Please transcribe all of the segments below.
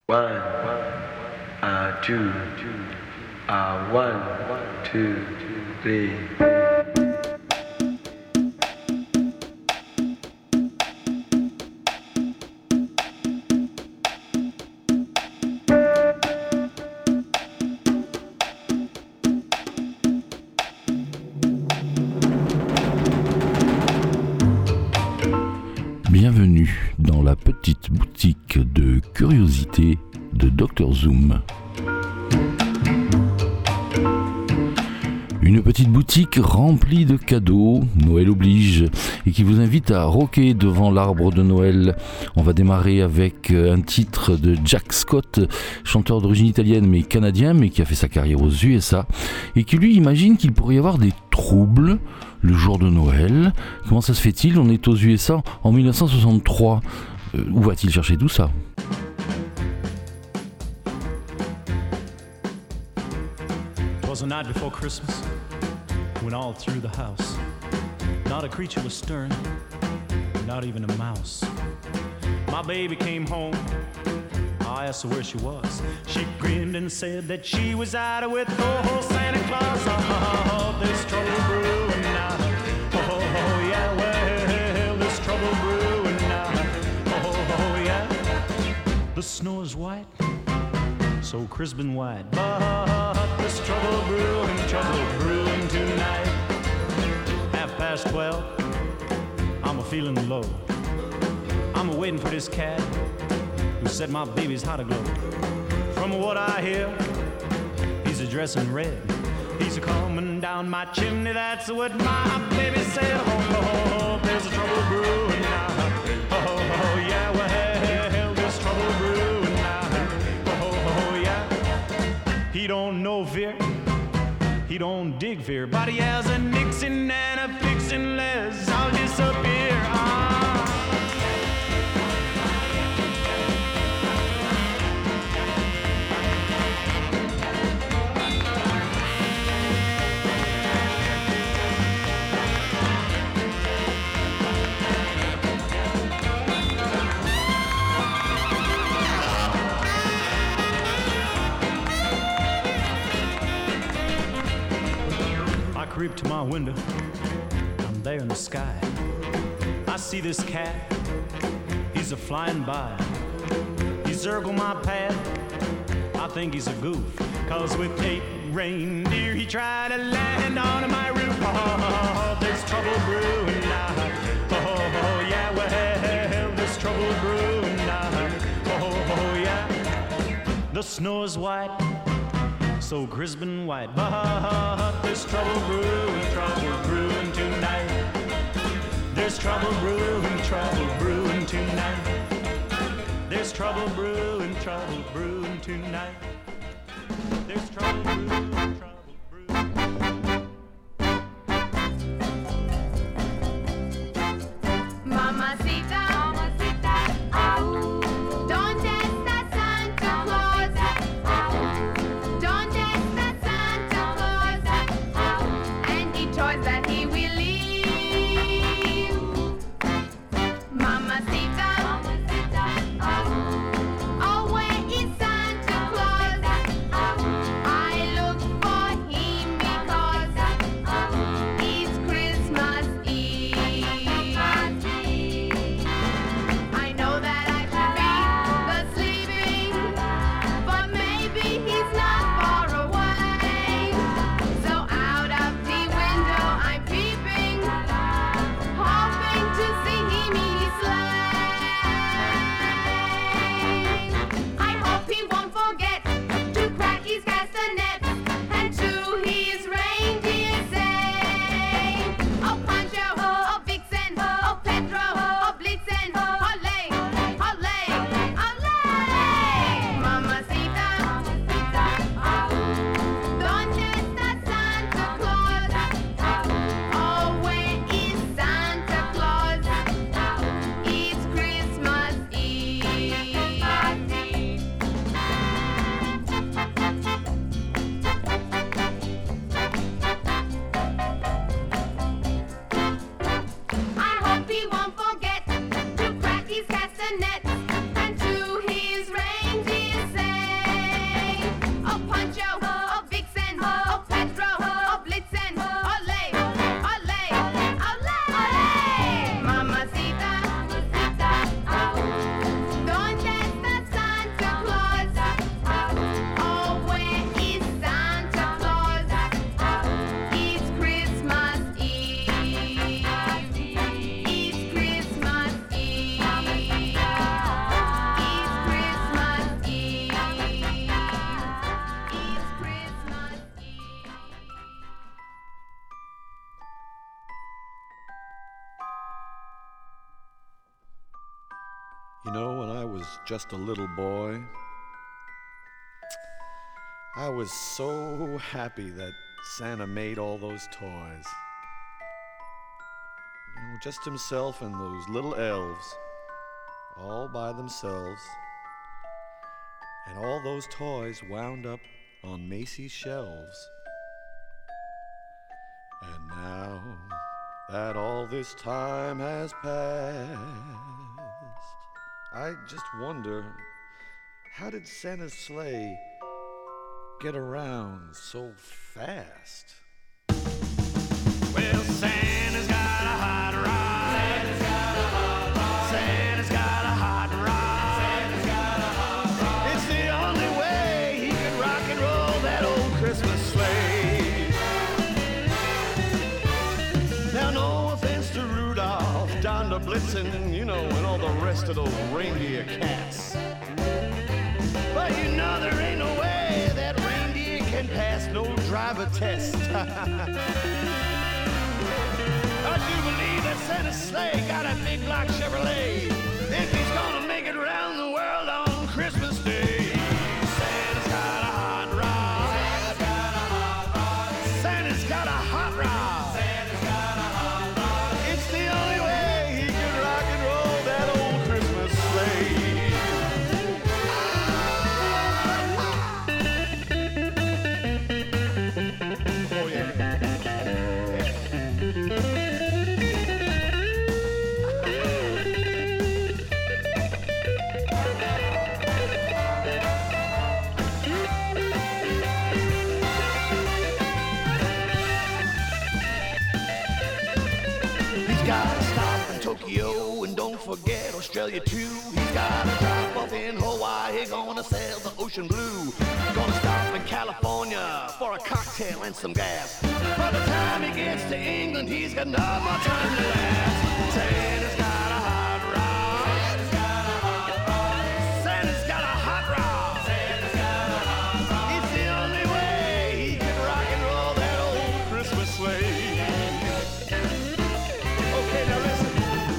One, two, one, two, three. Bienvenue dans la petite boutique de curiosités de Dr Zoom. Une petite boutique remplie de cadeaux, Noël oblige, et qui vous invite à rocker devant l'arbre de Noël. On va démarrer avec un titre de Jack Scott, chanteur d'origine italienne mais canadien, mais qui a fait sa carrière aux USA, et qui lui imagine qu'il pourrait y avoir des troubles le jour de Noël. Comment ça se fait-il ? On est aux USA en 1963. Où va-t-il chercher tout ça ? It was the night before Christmas, when all through the house, not a creature was stirring, not even a mouse. My baby came home, I asked her where she was. She grinned and said that she was out with old Santa Claus. Oh, there's trouble brewing now. Oh, yeah, well, there's trouble brewing now. Oh, yeah. The snow is white, so crisp and white. But there's trouble brewing tonight. 12:30, I'm a-feeling low. I'm a-waiting for this cat who set my baby's heart aglow. From what I hear, he's a-dressing red. He's a-coming down my chimney, that's what my baby said. Oh, there's a trouble brewing now. Oh, yeah, well, there's trouble brewing now. Oh, yeah. He don't know fear, he don't dig fear, but he has a Nixon and a fixin' Les, I'll disappear. Creep to my window, I'm there in the sky. I see this cat, he's a-flying by. He circled my path, I think he's a goof, 'cause with 8 reindeer he tried to land on my roof. Oh, there's trouble brewing now. Oh, yeah, well, there's trouble brewing now. Oh, yeah. The snow is white, so crisp and white, but there's trouble brewing tonight. There's trouble brewing tonight. There's trouble brewing tonight. There's trouble brewing. Mamacita, au. Don't test that Santa Claus. Don't test that Santa Claus. And the toys that he will leave. Mamacita, oh, where is Santa Claus? I look for You know, when I was just a little boy, I was so happy that Santa made all those toys. You know, just himself and those little elves, all by themselves. And all those toys wound up on Macy's shelves. And now that all this time has passed, I just wonder, how did Santa's sleigh get around so fast? Well, Santa's got a hot rod. Santa's got a hot rod. Santa's got a hot rod. Santa's got a hot rod. It's the only way he can rock and roll that old Christmas sleigh. Now, no offense to Rudolph, Donner Blitzen, you know, and all the rest of those reindeer cats. But you know there ain't no way that reindeer can pass no driver test. I do believe that Santa's sleigh got a big black Chevrolet if he's gonna make it around the world on Christmas Day. Santa's got a hot rod. Santa's got a hot rod. Santa's got a hot rod. Santa's got a hot rod. It's the only way he can rock and roll that old Christmas sleigh. Oh yeah. Tokyo, and don't forget Australia too. He's got a drop off in Hawaii, gonna sail the ocean blue. Gonna stop in California for a cocktail and some gas. By the time he gets to England, he's got no more time to last. Santa's got a hot rod. Santa's got a hot rod. Santa's got a hot rod. Santa's got a hot rod. It's the only way he can rock and roll that old Christmas sleigh. Okay, now listen.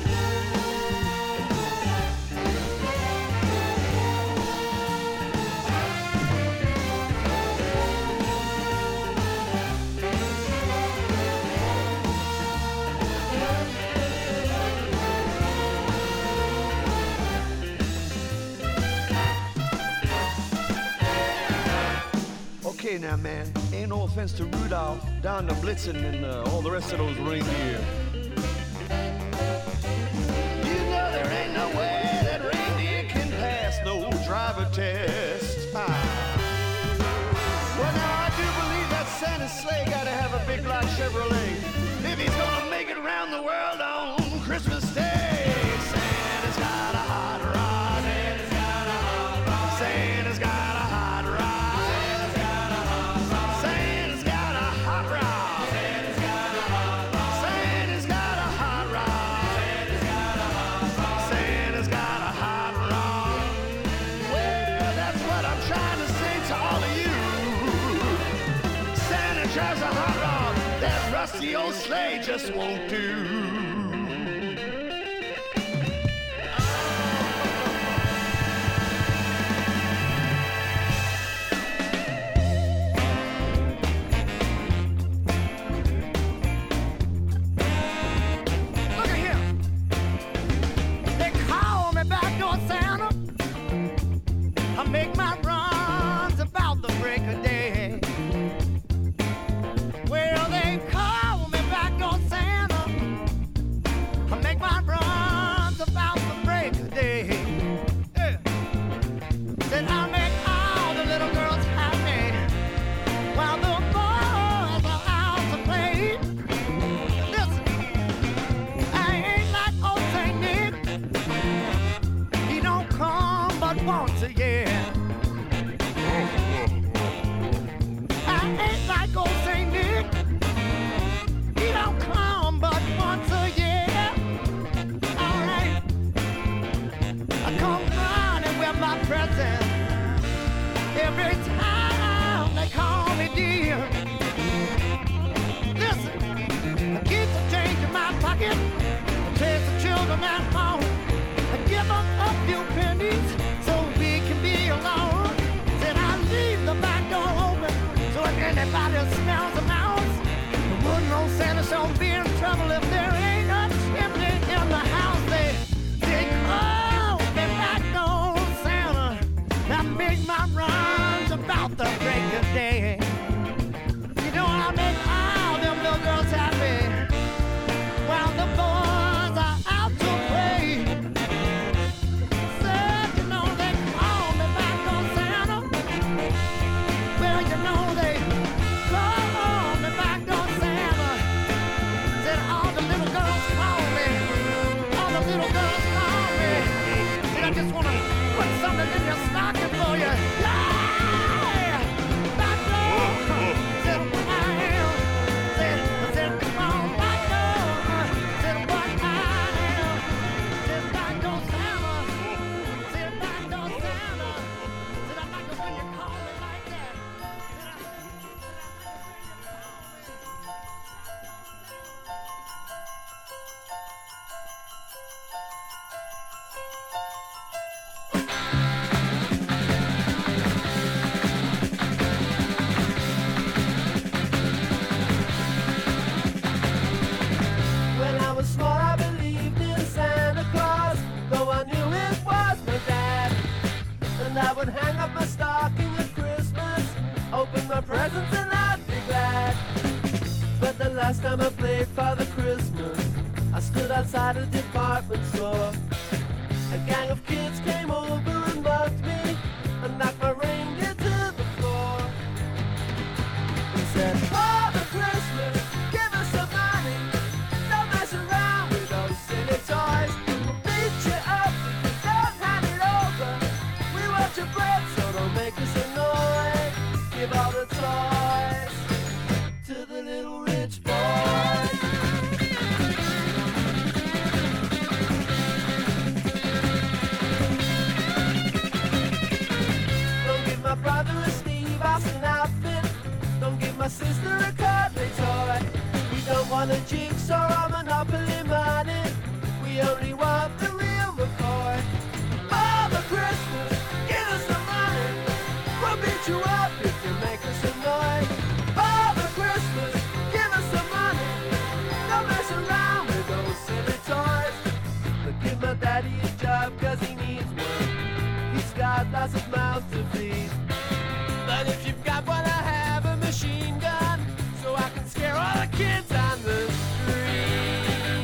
Okay now, man, ain't no offense to Rudolph, Donner Blitzen, and all the rest of those reindeer. You know there ain't no way that reindeer can pass no driver test. Well, now I do believe that Santa's sleigh gotta have a big black Chevrolet if he's gonna make it around the world on Christmas Day. Santa's got a hot rod. Santa's got a hot rod. Santa's got a hot rod. Drives a hot rod, that rusty old sleigh just won't do. Look at here. They call me backdoor Santa. I make my runs about the break of day. Well, they call me backdoor Santa. I make my runs about the break of day. Yeah. Then I make all the little girls happy while the boys are out to play. Listen, I ain't like old Saint Nick. He don't come but once a year. I ain't like old Saint Nick. He don't come but once a year. All right. I come running with my presents every time they call me dear. Listen, I keep the change in my pocket, chase the children at home, I give them a few time runs about the break of day. You know I make all them little girls happy while the boys are out to play. Said you know they call me back on Santa. Well you know they call me back on Santa. Said all the little girls call me. All the little girls call me. Said I just wanna put something in your stocking for you. Yeah! Back door. Said what I am. Said come on back door. Said what I am. Said back door Santa. Said back door Santa. Said I like it when you call me like that. When I was small, I believed in Santa Claus, though I knew it was my dad. And I would hang up my stocking at Christmas, open my presents and I'd be glad. But the last time I played Father Christmas, I stood outside a department store. A gang of kids came over and mugged me and knocked my reindeer to the floor. He said, Father Christmas, give us some money. Don't mess around with those silly toys. We'll beat you up if you don't hand it over. We want your bread, so don't make us annoyed. Give all the toys to the little rich boys. Don't give my brother a Steve Austin outfit. Don't give my sister a cuddly toy. We don't want a jigsaw or Monopoly money. We only want the real McCoy. Father Christmas, give us some money. We'll beat you up if you make us annoyed. Father Christmas, give us some money. Don't mess around with those silly toys. But give my daddy a job cause he needs one. He's got lots of mouths to feed. But if you've got what I have, a machine gun, so I can scare all the kids on the street.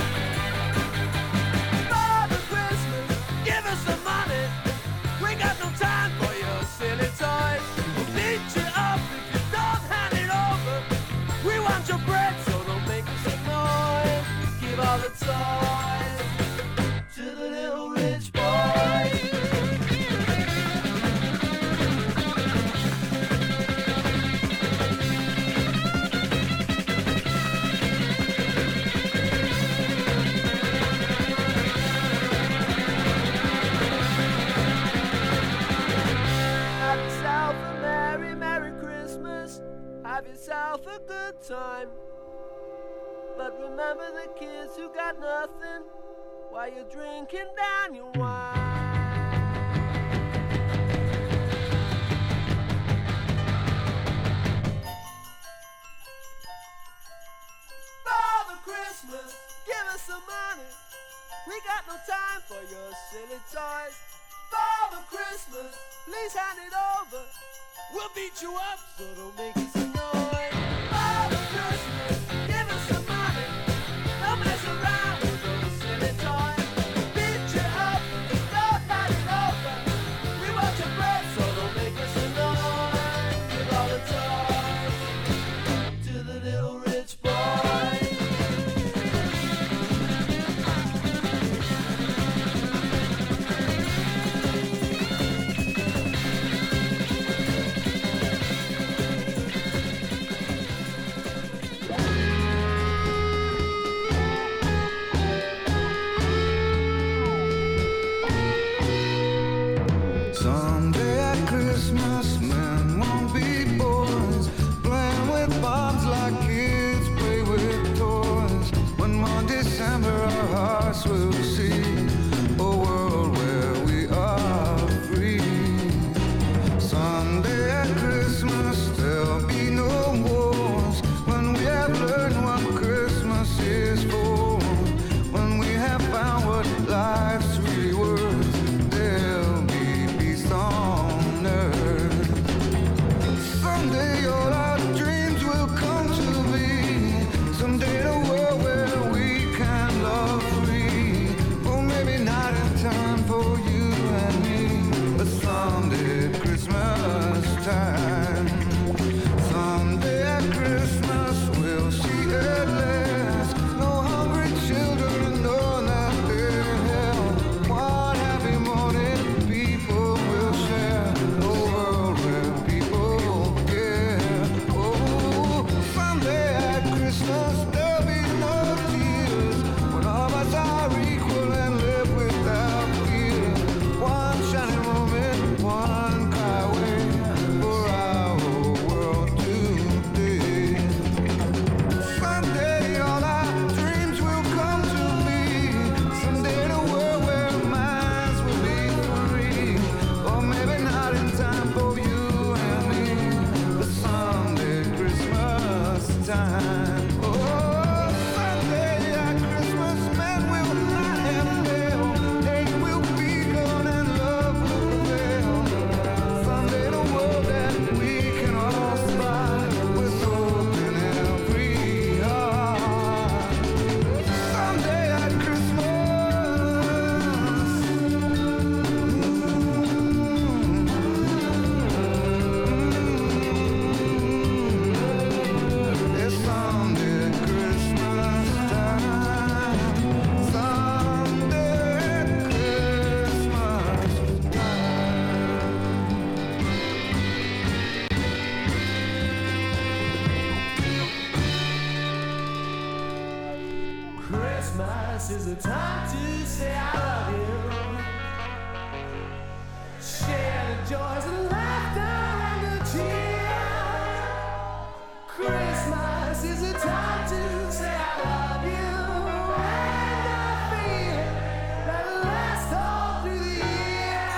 Father Christmas, give us some money. We got no time for your silly toys. We'll beat you up if you don't hand it over. We want your bread, so don't make us annoyed. Give all the toys to the little rich boys. Have yourself a merry, merry Christmas. Have yourself a good time. But remember the kids who got nothing while you're drinking down your wine. Father Christmas, give us some money. We got no time for your silly toys. Father Christmas, please hand it over. We'll beat you up, so don't make us annoyed. Father Christmas, give us some money. Don't mess around with those silly toys. We'll beat you up, don't hand it over. We want your bread, so don't make us annoyed. Give all the toys to the little rich boys. Someday at Christmas, men won't be boys, playing with bombs like kids play with toys. One more December, our hearts will see a world where we are free. Someday at Christmas, there'll be no wars, when we have learned what Christmas is for, when we have found what life's really worth. There'll be peace on earth. the time to say I love you. Share the joys and laughter and the cheer. Christmas is the time to say I love you. And I feel that'll last all through the year.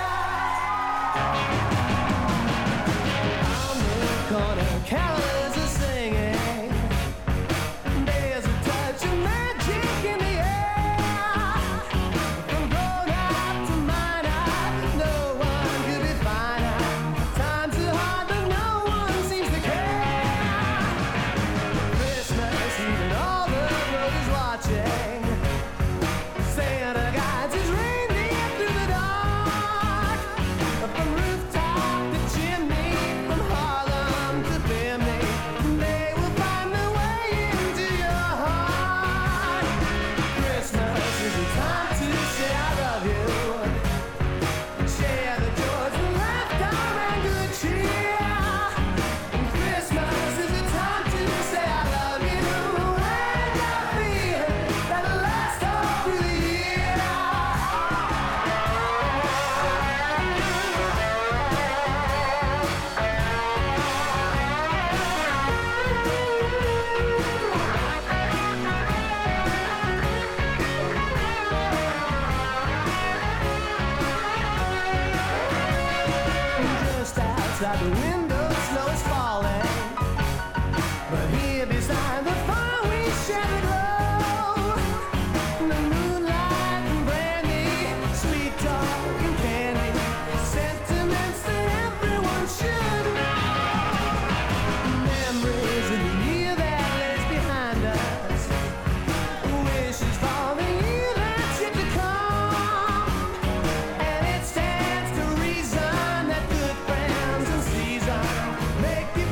On the corner, carolers are singing. There's a touch of magic in the air. From grown-up to minor, no one could be finer. Times are hard, but no one seems to care. Christmas Eve and all the world is watching. Santa guides his reindeer through the dark. From rooftop to chimney, from Harlem to Bimini, they will find their way into your heart. Christmas is the time to say I love you. Share the joys and laughter and good cheer. Christmas is the time to say I love you. And I feel that'll last all through the year. Just outside the window, snow is falling. But here beside the fire, we share the glow. The moonlight and brandy, sweet talk and candy, sentiments that everyone should know. Memories of the year that lays behind us, wishes for the year that's yet to come. And it stands to reason that good friends in season make you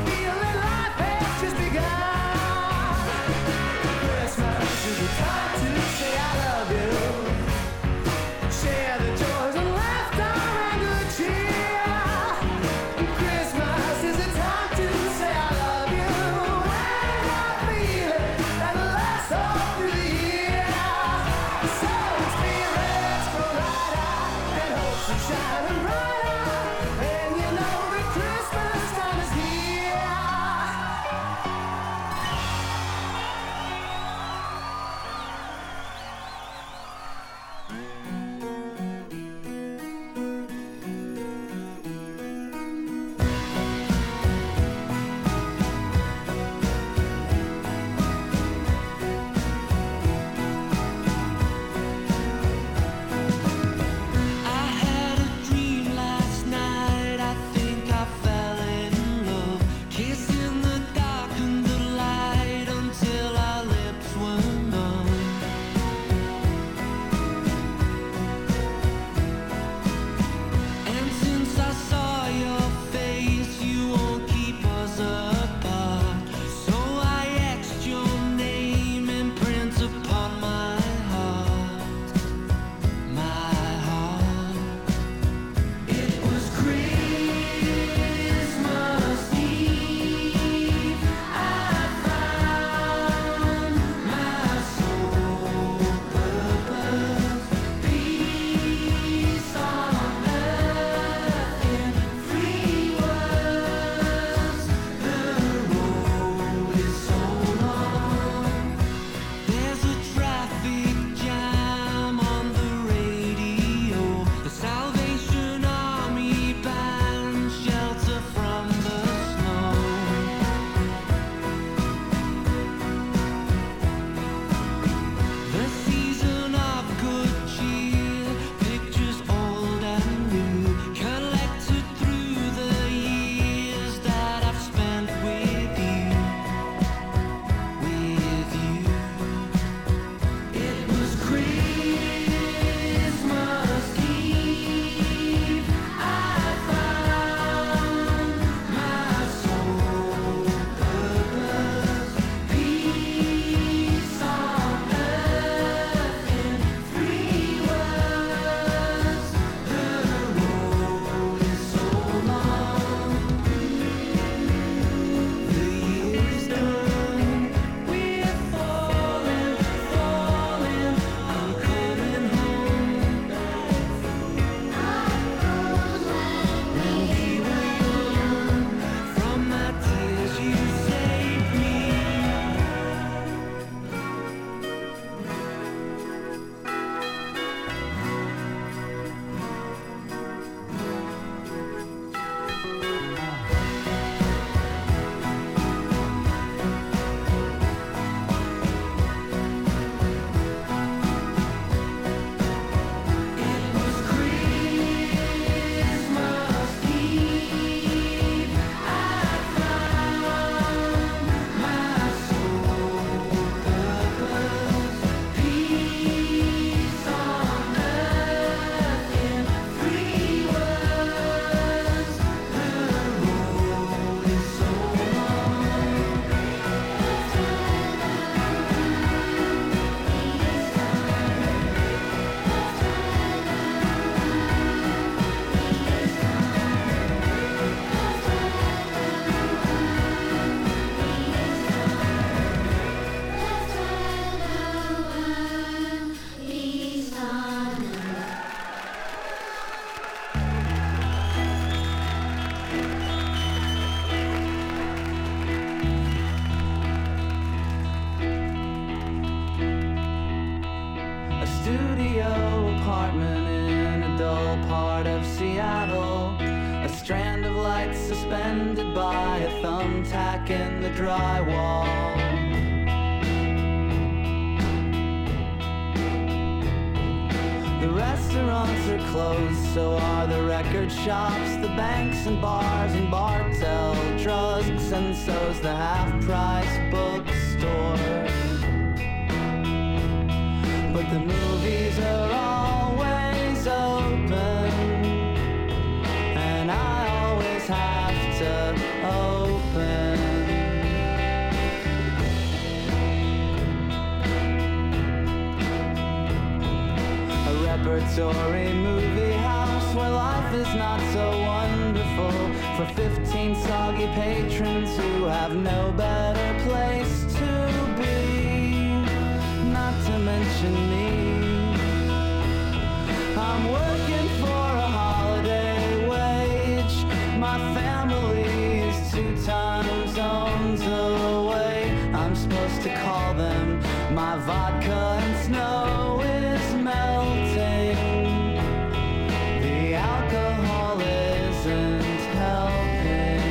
suspended by a thumbtack in the drywall. The restaurants are closed, so are the record shops, the banks and bars and Bartell drugs, and so's the half-price bookstore. But the movies are always open, and I always have to open. Repertory movie house where life is not so wonderful for 15 soggy patrons who have no better place to be, not to mention me. I'm working for a holiday wage. My family is 2 time zones away. I'm supposed to call them. My vodka and snow is melting. The alcohol isn't helping.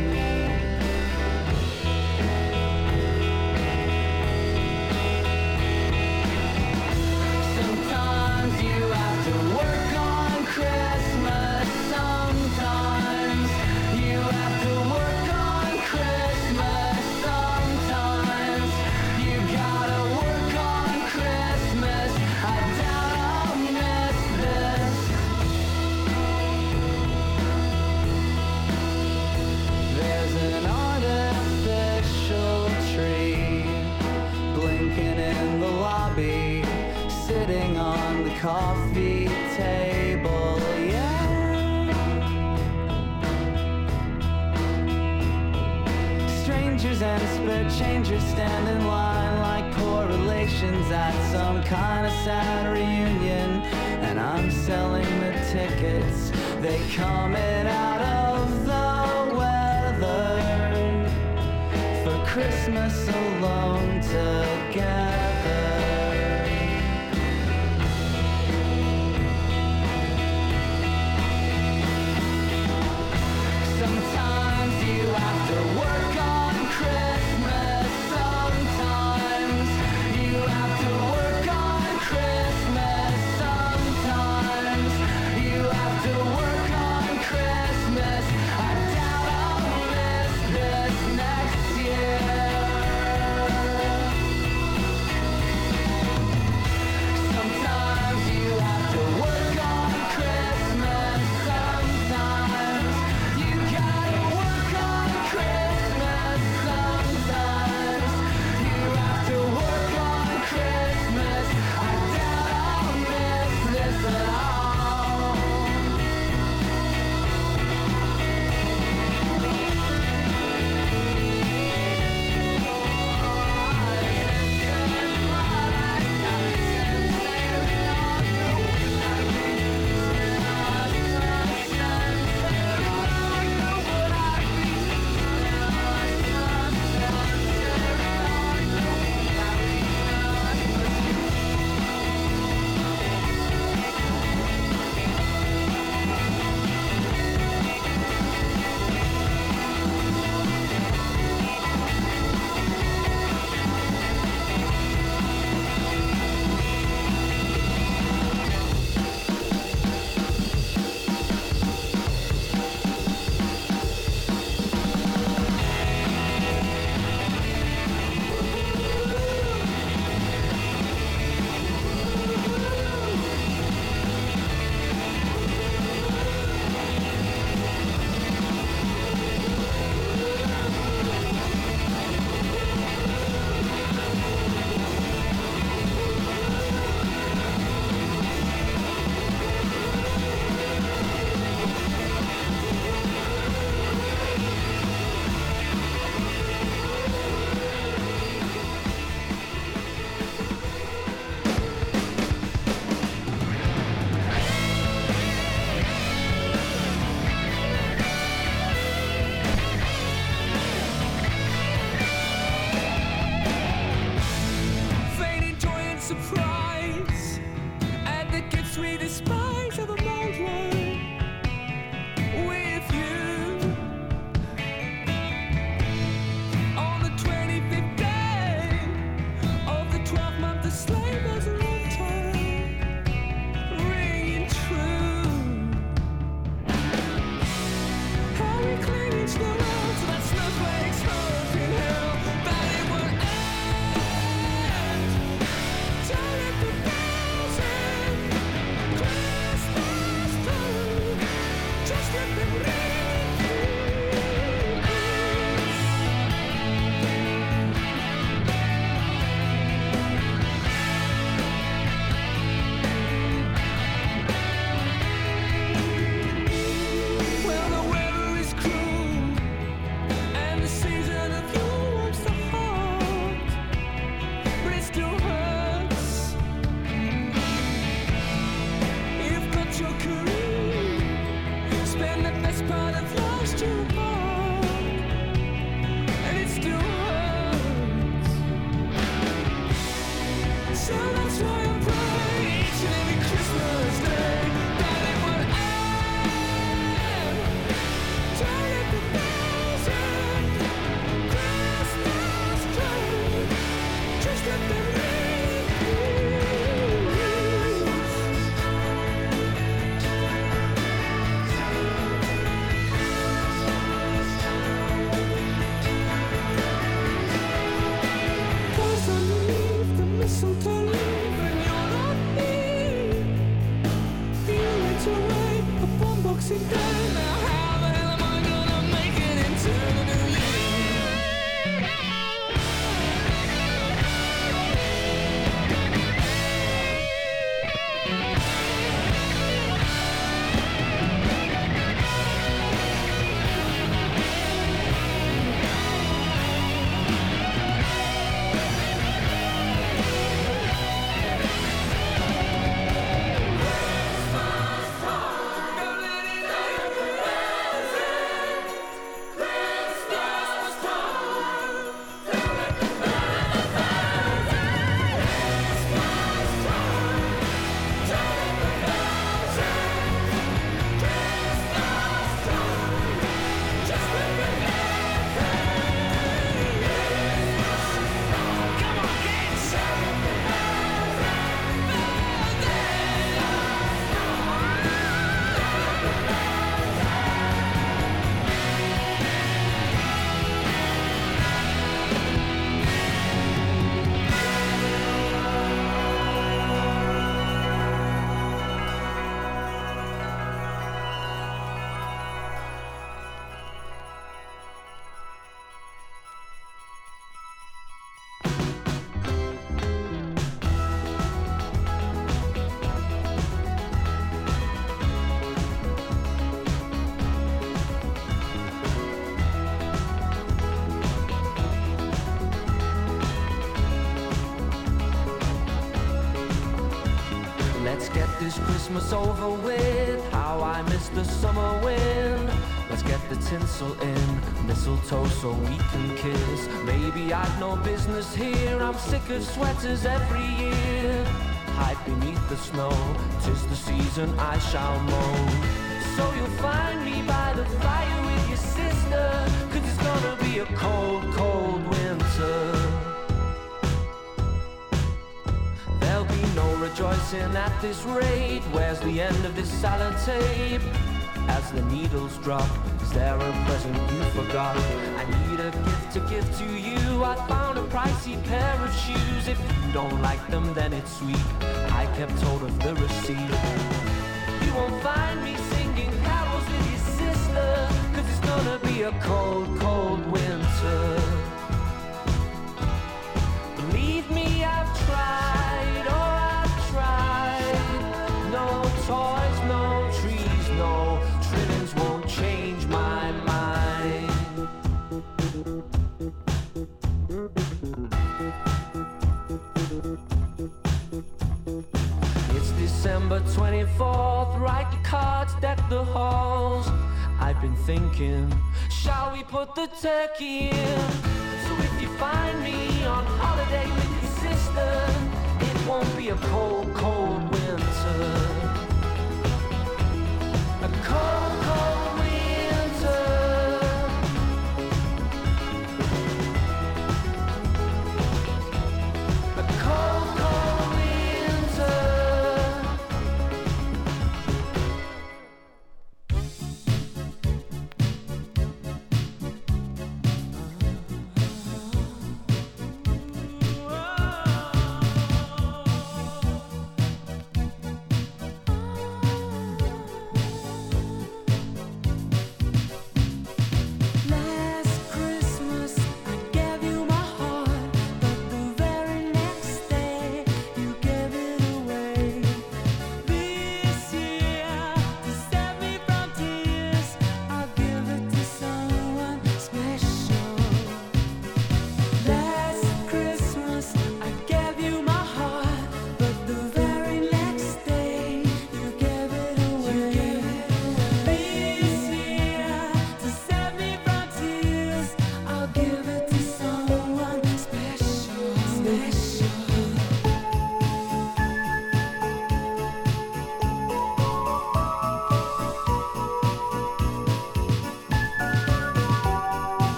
Sometimes you have to work on Christmas. Sometimes you have to work on Christmas. Sometimes you gotta work on Christmas. I doubt I'll miss this. There's an artificial tree blinking in the lobby, sitting on the coffee table, yeah. Strangers and spare changers stand in line like poor relations at some kind of sad reunion. And I'm selling the tickets, they coming out of the weather for Christmas alone together. Sometimes you have to work on Christmas. Sometimes you have to work on Christmas. Sometimes you have to work on Christmas. I doubt I'll miss this next year. Christmas over with. How I miss the summer wind. Let's get the tinsel in, mistletoe so we can kiss. Maybe I've no business here, I'm sick of sweaters every year. Hide beneath the snow, 'tis the season I shall mow. So you'll find me by the fire with your sister, 'cause it's gonna be a cold, cold winter. There'll be no rejoicing at this rate. Where's the end of this sellotape? As the needles drop, is there a present you forgot? I need a gift to give to you. I found a pricey pair of shoes. If you don't like them, then it's sweet. I kept hold of the receipt. You won't find me singing carols with your sister, 'cause it's gonna be a cold, cold winter. Believe me, I've tried, oh I've tried. No toys, no trees, no trimmings won't change my mind. It's December 24th, write the cards, deck the halls. I've been thinking, shall we put the turkey in? So if you find me on holiday with your sister, it won't be a cold, cold winter. A cold, cold winter. A cold, cold winter.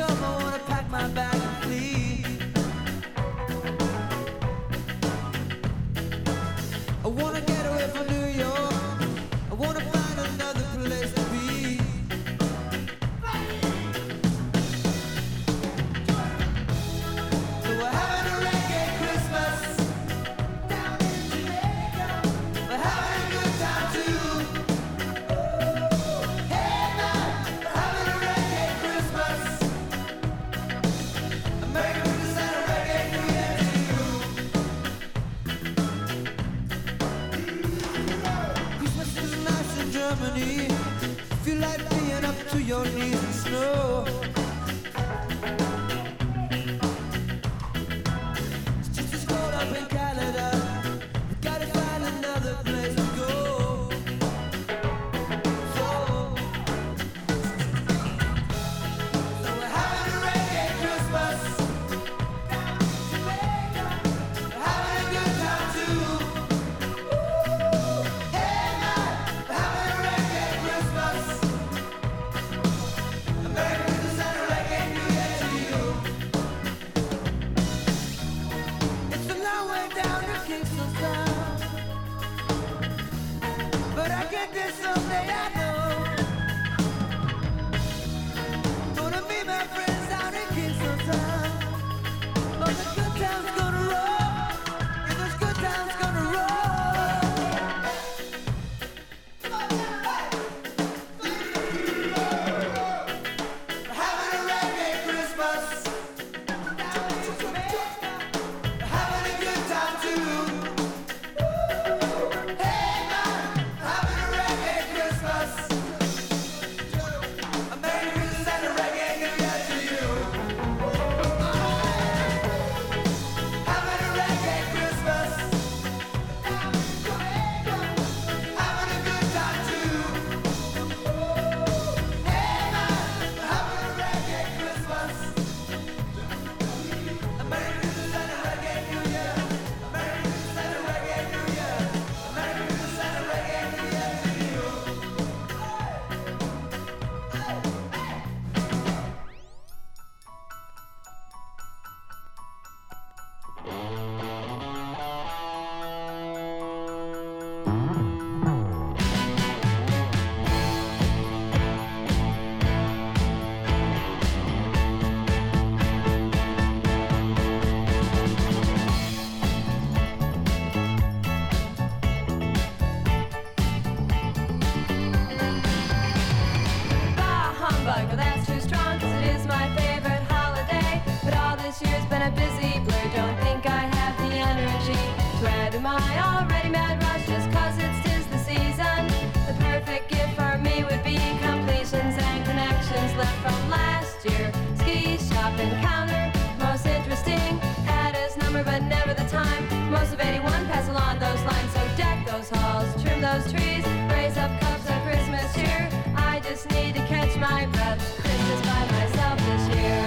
tough, I wanna pack my bag and flee. I wanna get away from New York. I wanna find another place to be. So we're having a reggae Christmas down in Jamaica. We're having a good time too. Hey man, we're having a reggae Christmas. American Christmas and a reggae New Year to you. Christmas is nice in Germany. Feel like being up to your knees in snow. It's just as cold up in Canada. We gotta find another place to go. So we're having a reggae Christmas. Jamaica. We're having a good time too. Hey man, we're having a reggae Christmas. American Christmas and a reggae New Year to you. It's a long way down to Kingston Town, but I get there someday, I know. Gonna meet my friends down in Kingston Town. But the good times gonna roll. Yeah, those good times gonna roll. We're having a reggae Christmas. We're having a good time too. Hey man, having a reggae Christmas. American Christmas and a reggae New Year to you. Having a reggae Christmas. Having a good time too. Hey man, having a reggae Christmas. American Christmas and a reggae New Year. American Christmas and a reggae New Year. American Christmas and a reggae New Year to you. Bah humbug, well that's too strong 'cause it is my favorite holiday. But all this year's been a busy blur, don't think I have the energy to add to my already mad rush just 'cause it's 'tis the season. The perfect gift for me would be completions and connections left from last year. Ski shop encounter, most interesting, had his number but never the time. Most of 81 pass along those lines, so deck those halls, trim those trees, raise up cups of Christmas cheer. I just need to catch my breath. Christmas by myself this year.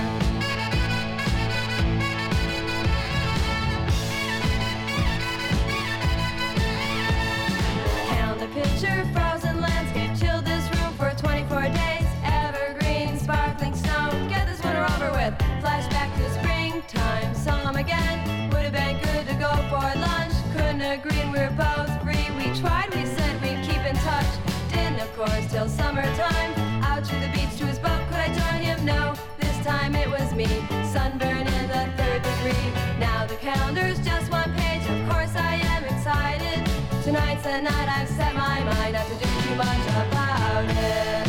Calendar picture, frozen landscape, chill this room for 24 days. Evergreen, sparkling snow, get this winter over with. Flashback to springtime, saw him again. Would have been good to go for lunch. Couldn't agree, and we're both free. We tried, we said we'd keep in touch. Didn't, of course, till summertime. Out to the beach to his boat, could I join him? No, this time it was me. Sunburn in the 3rd degree. Now the calendar's just one page, of course I am excited. Tonight's the night I've set my mind not to do too much about it.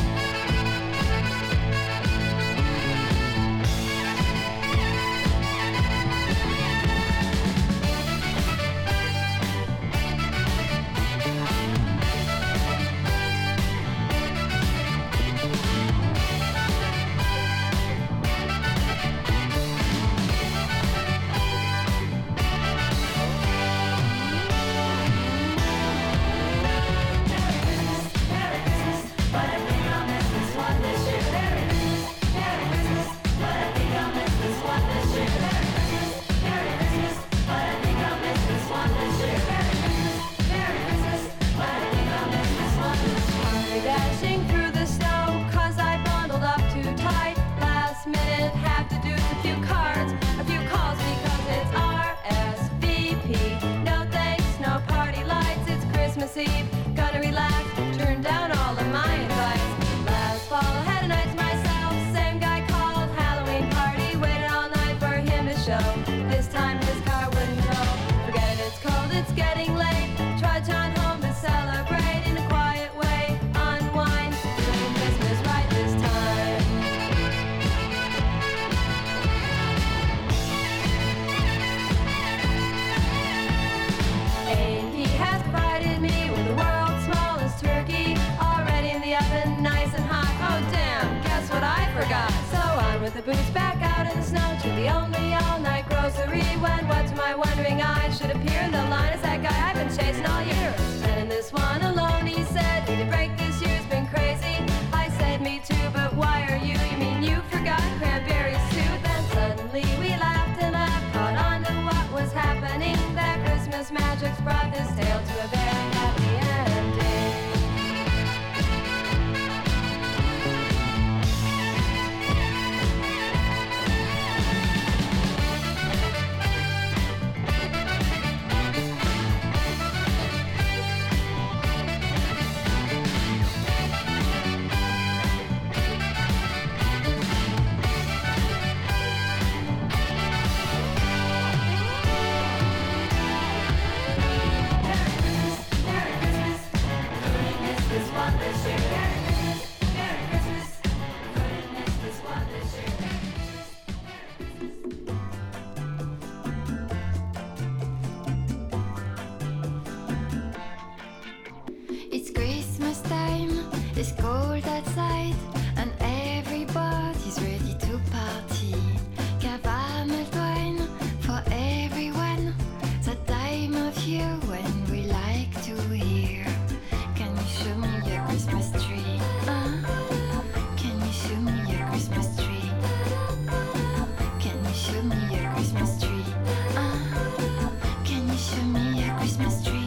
Christmas Eve. Gonna relax, turn down all of my invites. Last fall I had a night to myself. Same guy called, Halloween party. Waited all night for him to show. This time his car wouldn't tow. Forget it, it's cold, it's getting late. Trudge on home to celebrate in a quiet way. Unwind, doing Christmas right this time. A&P has provided me with the world's smallest turkey, already in the oven, nice and hot. Oh damn, guess what I forgot? So on with the boots, back out in the snow to the only all-night grocery. When what to my wondering eyes should appear in the line is that guy I've been chasing all year. And in this one alone, he said, need a break, this year's been crazy. I said, me too, but why are you? You mean you forgot cranberries too? Then suddenly we laughed and laughed, caught on to what was happening. That Christmas magic's brought this tale to a very happy ending. It's Christmas time, it's cold outside, and everybody's ready to party. Caramel wine for everyone, the time of year when we like to hear. Can you show me your Christmas tree? Can you show me your Christmas tree? Can you show me your Christmas tree? Can you show me your Christmas tree?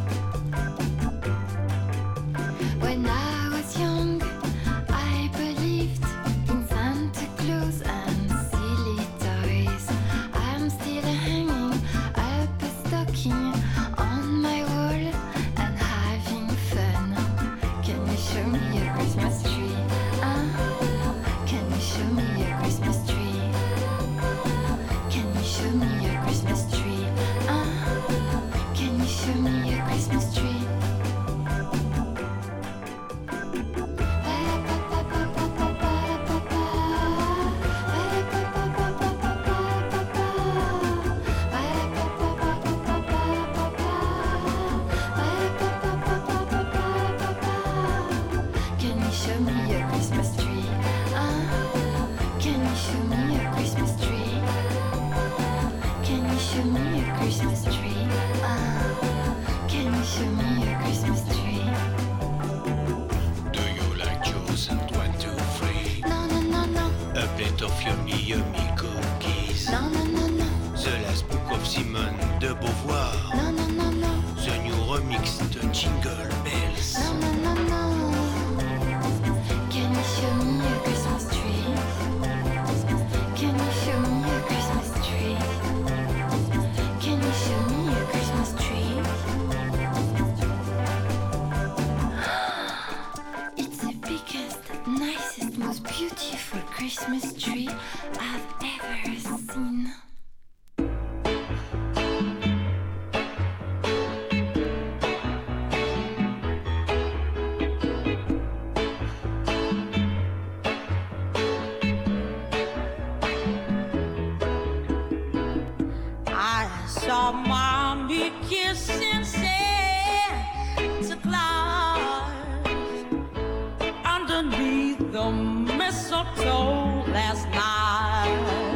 When I was young, I believed in Santa Claus and silly toys. I'm still hanging up a stocking on my wall and having fun. Can you show me your Christmas tree? Can you show me your Christmas tree? Can you show me your Christmas tree? Can you show me your Christmas tree? Can you show me your Christmas tree? Can you show me your Christmas tree? Can you show me your Christmas tree? Can you show me your Christmas tree? Do you like juice and 1, 2, 3? No, no, no, no. A plate of yummy, yummy cookies. No, no, no, no. The Last Book of Simone de Beauvoir. No, no, no, no. The new remix de Jingle Bells. No, no, no, no. Can you show me your Christmas tree? Can you show me your Christmas tree? Can you show me your Christmas tree? It's the biggest, nicest, most beautiful Christmas tree I've ever seen. I saw Mommy kissing Santa Claus underneath the mistletoe last night.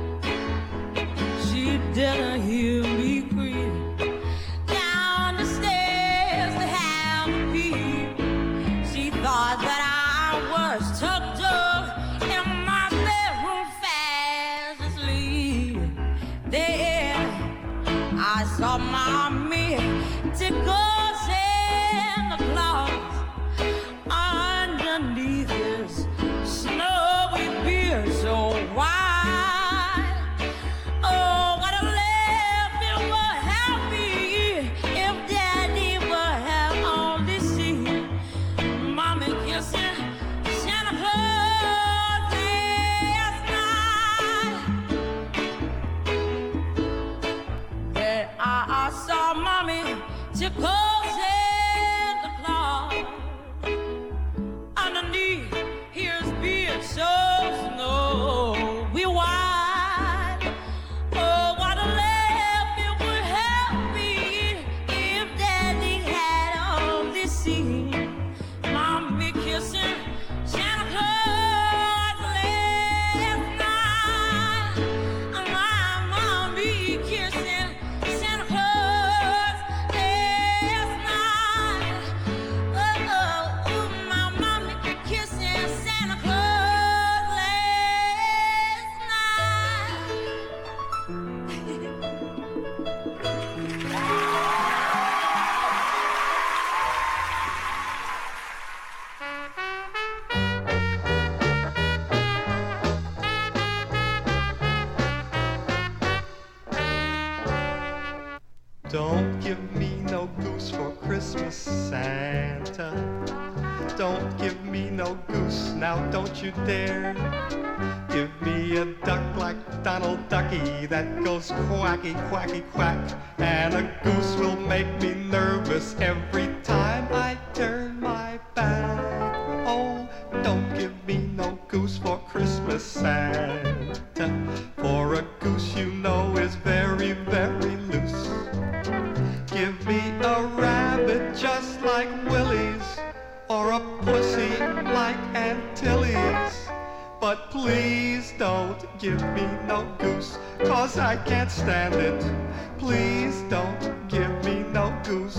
She didn't hear me creep down the stairs to have a peep. She thought that I was tucked up in my bedroom fast asleep. Then I saw Mommy tickle Santa Claus underneath his snowy beard so wide. Oh, what a laugh it would have me if Daddy would have Don't give me no goose for Christmas, Santa. Don't give me no goose, now don't you dare. Give me a duck like Donald Ducky that goes quacky, quacky, quack. And a goose will make me nervous every time I turn my back. Oh, don't give me no goose for Christmas, Santa. For a goose you know is very, very loose. Give me a rabbit just like Willie's, or a pussy like Aunt Tilly's. But please don't give me no goose, 'cause I can't stand it. Please don't give me no goose.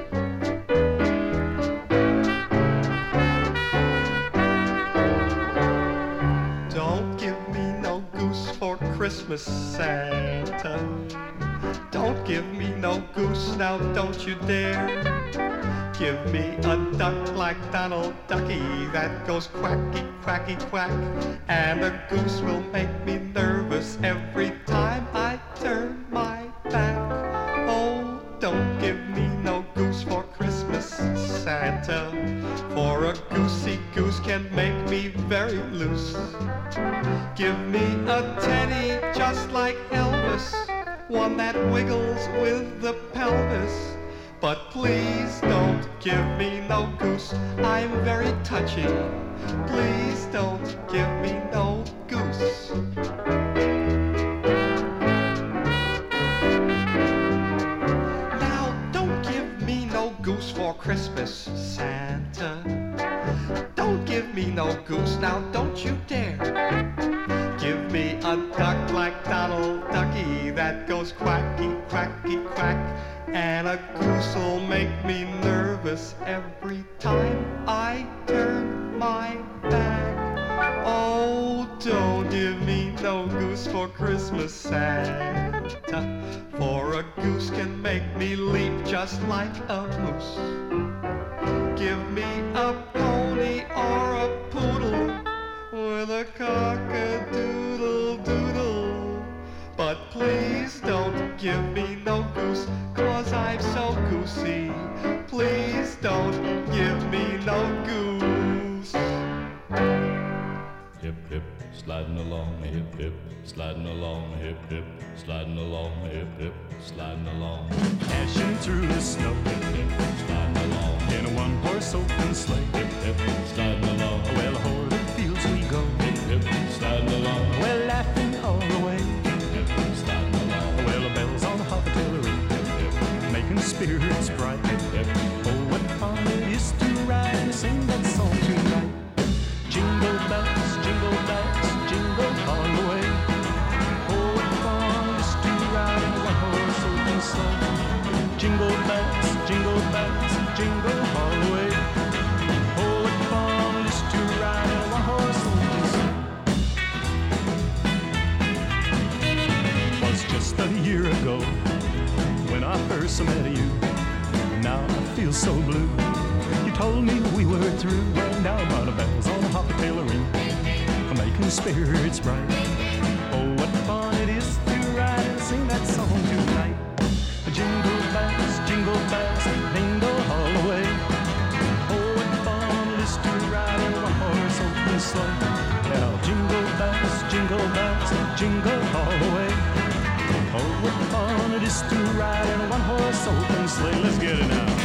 Don't give me no goose for Christmas, Santa. Don't give me no goose, now don't you dare. Give me a duck like Donald Ducky that goes quacky, quacky, quack. And a goose will make me nervous every time I turn my back. Oh, don't give me no goose for Christmas, Santa. For a goosey goose can make me very loose. Give me a teddy just like Elvis, one that wiggles with the pelvis. But please don't give me no goose, I'm very touchy. Please don't give me no goose. Now don't give me no goose for Christmas, Santa. Don't give me no goose, now don't you dare. Give me a duck like Donald Ducky that goes quacky, quacky, quack. And a goose'll make me nervous every time I turn my back. Oh, don't give me no goose for Christmas, Santa. For a goose can make me leap just like a moose. Give me a pony or a poodle with a cock-a-doodle-doodle. But please don't give me no goose, 'cause I'm so goosey. Please don't give me no goose. Hip, hip, sliding along, hip, hip, sliding along, hip, hip, sliding along, hip, hip, sliding along. Dashing through the snow, Hip, hip, sliding along, in a one-horse open sleigh. hip, hip, sliding along, Well, o'er the fields we go, hip, hip, sliding along, well, laughing all the way. hip, sliding along, Well, the bells on the artillery, making spirits bright. Oh, what fun it is to ride and sing that song tonight. Jingle bells, jingle all the way. Oh, what fun it is to ride in a one-horse open sleigh. Jingle bells, jingle all the way. Oh, what fun it is to ride in a one-horse open sleigh. Was just a year ago when I first met you. Now I feel so blue. You told me we were through, and now by the bells on the artillery, making spirits bright. Oh, what fun it is to ride and sing that song tonight. Jingle bells, jingle all the way. Oh, what fun it is to ride in a one-horse open sleigh. Now jingle bells, jingle all the way. Oh, what fun it is to ride in a one-horse open sleigh. Let's get it now.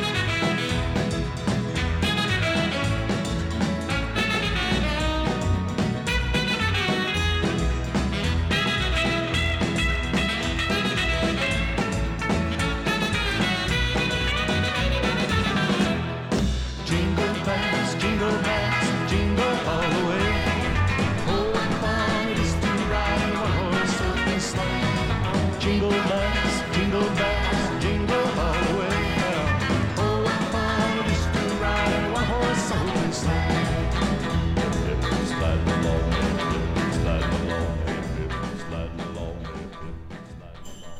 Jingle bells, jingle all the way. Oh, what fun it is to ride in a one-horse open sleigh. Jingle bells, jingle all the way. Oh, what fun it is to ride in a one-horse open sleigh. hip, sliding along, hip, sliding along, hip, sliding along, hip, sliding along.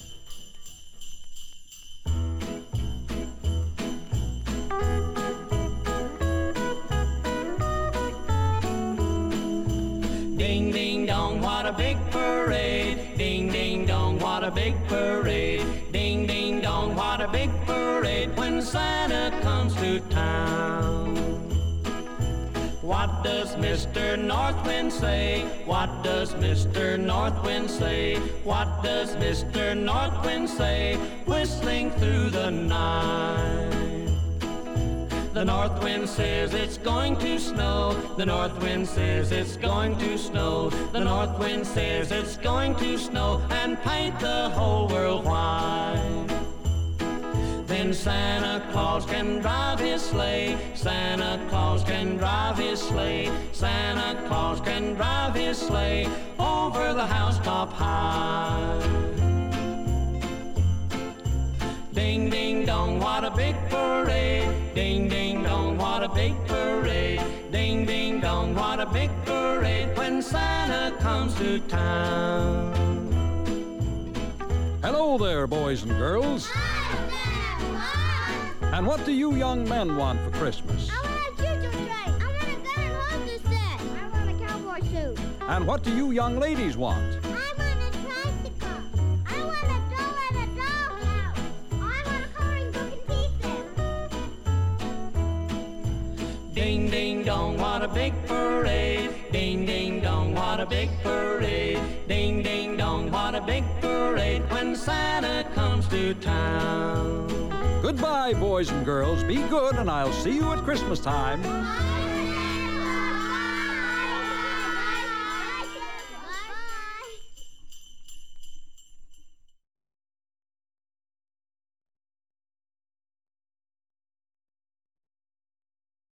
Ding ding dong, what a big parade. Ding ding dong, what a big parade. Ding ding dong, what a big parade when Santa comes to town. What does Mr. Northwind say? What does Mr. Northwind say? What does Mr. Northwind say? Whistling through the night. The north wind says it's going to snow. The north wind says it's going to snow. The north wind says it's going to snow and paint the whole world white. Then Santa Claus can drive his sleigh. Santa Claus can drive his sleigh. Santa Claus can drive his sleigh over the housetop high. Ding, ding, dong, what a big parade. Ding, ding, dong, what a big parade. Ding, ding, dong, what a big parade when Santa comes to town. Hello there, boys and girls. And what do you young men want for Christmas? I want a choo-choo train. I want a gun and holster set. I want a cowboy suit. And what do you young ladies want? I want a tricycle. I want a doll and a dollhouse. I want a coloring book and tea set. Ding, ding, dong, what a big parade. Ding, ding, dong, what a big parade. Ding, ding, dong, what a big parade when Santa comes to town. Goodbye, boys and girls. Be good, and I'll see you at Christmas time.